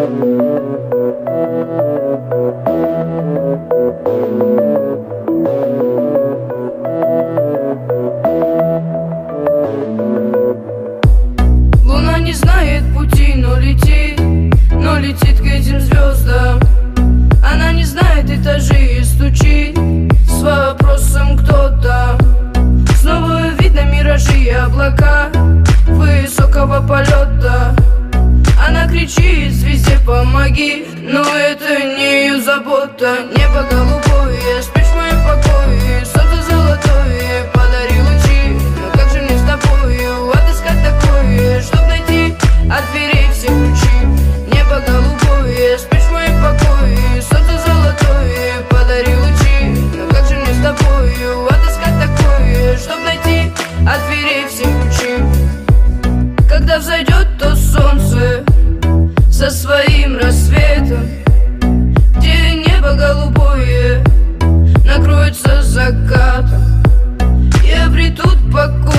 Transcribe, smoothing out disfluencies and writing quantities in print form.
Луна не знает пути, но летит к этим звездам. Она не знает этажей и стучит с вопросом, кто там. Снова видно миражи и облака высокого полета. Она кричит звезде помоги, но это не ее забота. Небо голубое, спишь в моем покое, солнце золотое, подари лучи. Но как же мне с тобою отыскать такое, чтоб найти от дверей все ключи? Небо голубое, спишь в моем покое, солнце золотое, подари лучи. Но как же мне с тобою отыскать такое, чтоб найти от дверей все ключи? Когда взойдет то солнце со своим рассветом, где небо голубое накроется закатом, и обретут покой